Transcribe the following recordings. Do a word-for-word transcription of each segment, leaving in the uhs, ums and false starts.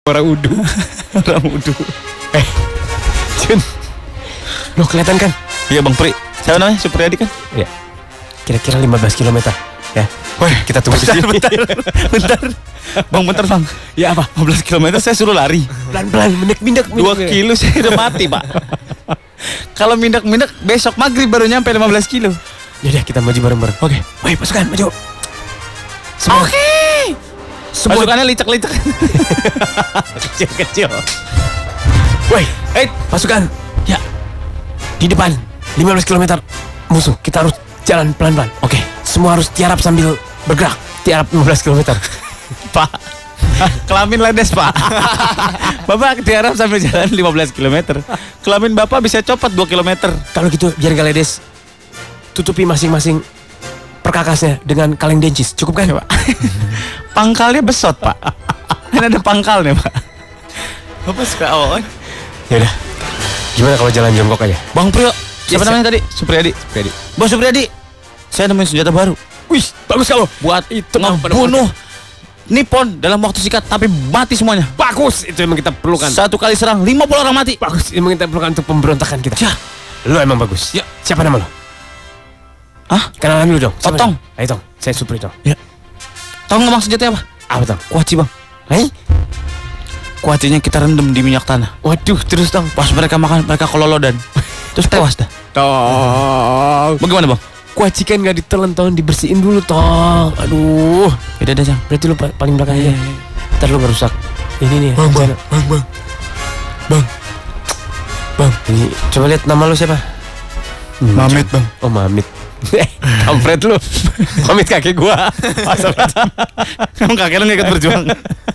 Orang udu. Orang udu. Eh, Jun, lo kelihatan kan? Iya Bang Pri. Siapa namanya? Supriyadi kan? Iya. Kira-kira lima belas kilometer. Ya. Wah, kita tunggu di bentar, sini. bentar, bentar. Bang, bentar Bang. Ya apa? lima belas kilometer saya suruh lari. Pelan-pelan, mindak-mindak. Dua kilo saya udah mati Pak. Kalau mindak-mindak besok maghrib baru nyampe lima belas kilo. Yaudah kita maju bareng-bareng. Oke. Woi pasukan maju. Semua. Oke. Semua. Pasukannya licak-licak. Kecil-kecil. Woi, Eh, pasukan. Ya. Di depan lima belas kilometer musuh. Kita harus jalan pelan-pelan. Oke. Semua harus tiarap sambil bergerak. Tiarap lima belas kilometer. Pak. Kelamin ledes Pak. Bapak tiarap sambil jalan lima belas kilometer. Kelamin Bapak bisa copot dua kilometer. Kalau gitu biar gak ledes, tutupi masing-masing perkakasnya dengan kaleng dencis. Cukup kan Pak? Pangkalnya besot Pak. Kan ada pangkalnya Pak. Bapak suka awal. Ya udah. Gimana kalau jalan jongkok aja? Bang Priyo. Siapa Yes, namanya tadi? Supriyadi. Supriyadi. Bos Supriyadi. Saya nemuin senjata baru. Wih, bagus kamu. Buat Itu ngebunuh Nippon dalam waktu singkat tapi mati semuanya. Bagus, itu emang kita perlukan. Satu kali serang lima puluh orang mati. Bagus, ini emang kita perlukan untuk pemberontakan kita. Ya. Lu emang bagus. Ya. Siapa nama lo? Hah? Kenalan dulu dong. Siapa Otong. nama? Ayo Tong, saya Supri Tong. Ya. Tahu nggak bang senjatanya apa? Apa Tong? Kuaci bang. Hei? Kuacinya kita rendam di minyak tanah. Waduh, terus Tong. Pas mereka makan mereka kololodan. Terus tewas dah. Tong. Bagaimana bang? Kuaci kan nggak ditelan Tong, dibersihin dulu Tong. Aduh. Beda dah Jang. Berarti lu pa- paling belakang aja. Ntar lu merusak. Ini nih. Bang, bang, sana. bang, bang, bang, bang. Ini coba lihat nama lu siapa? Hmm, Mamit coba. bang. Oh Mamit. Kampret lu. Mamit kakek gua. Masa Kamu kakek lu nggak ikut berjuang.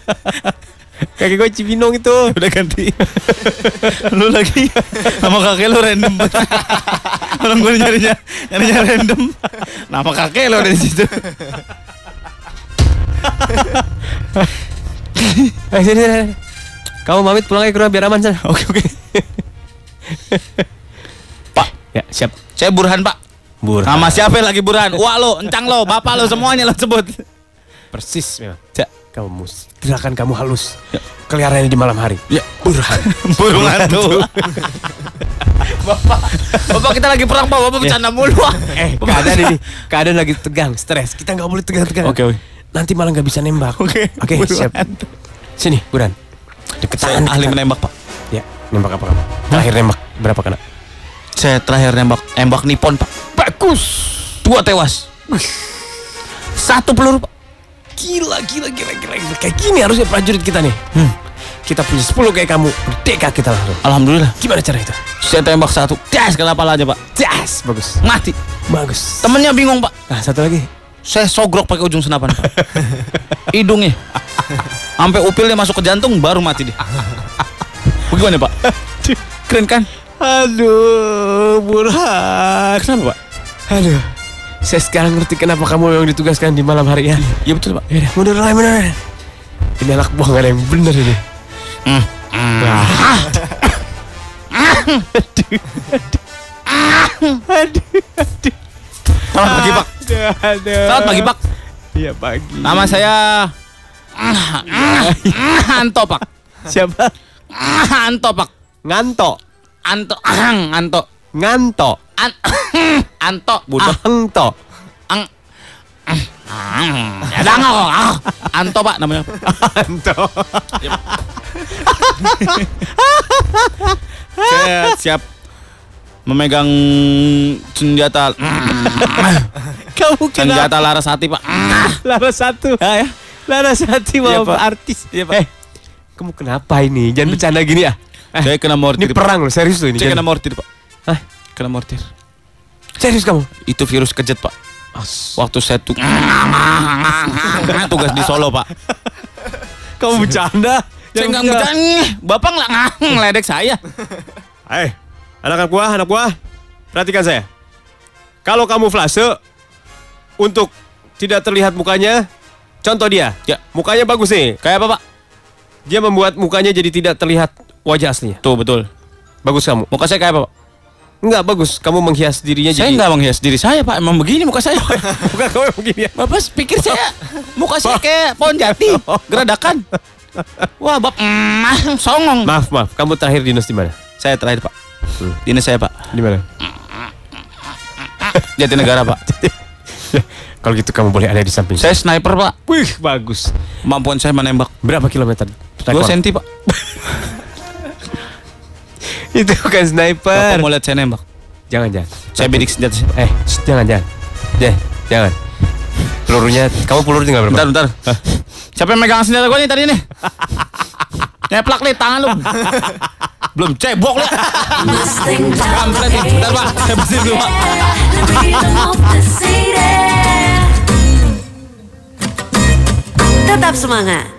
kakek gua Cibinong itu. Udah ganti. Lu lagi nama kakek lu random. Orang gue nyarinya nyarinya random. Nama kakek lu ada di situ. Eh sini, sini. Kamu Mamit pulang aja ke rumah biar aman sana. Oke oke. Pak, Ya siap. saya Burhan Pak. Burhan. Nama siapa lagi Burhan? Wah lo, encang lo, bapak lo semuanya lo sebut. Persis memang. Ya. Kamu mus. Gerakan kamu halus. Ya. Kelihatannya di malam hari. Ya. Burhan. Burung hantu. Bapak, bapak kita lagi perang Pak, bapak bercanda mulu. Eh keadaan ini, keadaan lagi tegang, stres. Kita nggak boleh tegang-tegang. Oke oke. Nanti malah nggak bisa nembak. Oke. Oke Burung siap. hantu. Sini Burhan. Saya Deketan. ahli deketan. menembak Pak. Ya. Nembak apa kamu? Terakhir nembak berapa kena? Saya terakhir nembak nembak Nippon Pak. Bagus. Dua tewas. Satu peluru Pak. Gila, gila, gila, gila, gila. Kayak gini harusnya prajurit kita nih. Hmm. Kita punya sepuluh kayak kamu. Merdeka kita langsung. Alhamdulillah. Gimana cara itu? Saya tembak satu. Das kena kepala aja Pak. Yes, bagus. Mati. Bagus. Temennya bingung Pak. Nah, satu lagi. Saya sogrok pakai ujung senapan Pak. Hidungnya. Sampai upilnya masuk ke jantung baru mati dia. Bagaimana Pak? Keren kan? Aduh, Burhan. Kenapa Pak? Aduh. Saya sekarang ngerti kenapa kamu memang ditugaskan di malam hari ya. Iya betul Pak. Yaudah, mundur lah, mundur. Ini anak buah gak ada yang bener ini. Hmm. Nah. Aduh, aduh, aduh. Selamat pagi Pak. Aduh, aduh. Selamat pagi Pak. Iya pagi. Nama saya Anto Pak. Siapa? Anto Pak. Nganto. Anto. Anto. Nganto. An Anto. Budak. Angto. Ang. Ya dah nggak kok. Ah. Anto Pak namanya. Anto. Saya siap memegang senjata Kamu senjata Larasati Pak. Larasati. Ya, ya. Larasati Iya, mau Pak. artis. Iya, Pak. Eh, kamu kenapa ini? Jangan bercanda gini ya. Eh, Saya kena mortir. ini perang loh, serius loh ini. Saya kena Jangan- mortir Pak. Hah? Kena mortir. Serius kamu? Itu virus kejut Pak. Waktu saya tuh tugas di Solo Pak. Kamu bercanda? Saya nggak bercanda. Bapak nggak ngeledek saya. Eh, anak-anak buah, anak buah, perhatikan saya. Kalau kamu flase untuk tidak terlihat mukanya, contoh dia. Ya. Mukanya bagus nih. Kayak apa Pak? Dia membuat mukanya jadi tidak terlihat wajah aslinya. Tuh betul. Bagus kamu. Muka saya kayak apa Pak? Enggak bagus, kamu menghias dirinya Saya jadi. nggak menghias diri saya Pak. Emang begini muka saya. Bukan kamu yang begini ya. Bapak pikir saya muka saya kayak pohon jati, geradakan. Wah, bab mm, songong. Maaf, maaf. Kamu terakhir dinas di mana? Saya terakhir, Pak. Hmm. Dinas saya, Pak. Di mana? Jatinegara, Pak. Kalau gitu kamu boleh ada di samping. Saya sniper, Pak. Wih, bagus. Kemampuan saya menembak. Berapa kilometer? Dua senti, Pak. Itu bukan Bapak sniper. mau lihat saya nembak? Jangan, jangan. Saya bidik senjata. Eh, shh, jangan, jangan. Deh, jangan. Pelurunya, kamu peluru tinggal berapa? Bentar, bentar. Siapa yang megang senjata gue nih tadi nih? Nyeplak nih tangan lu. Belum cebok lu. Kampret nih. Bentar, Pak. Saya bersihin dulu, Pak. Tetap semangat.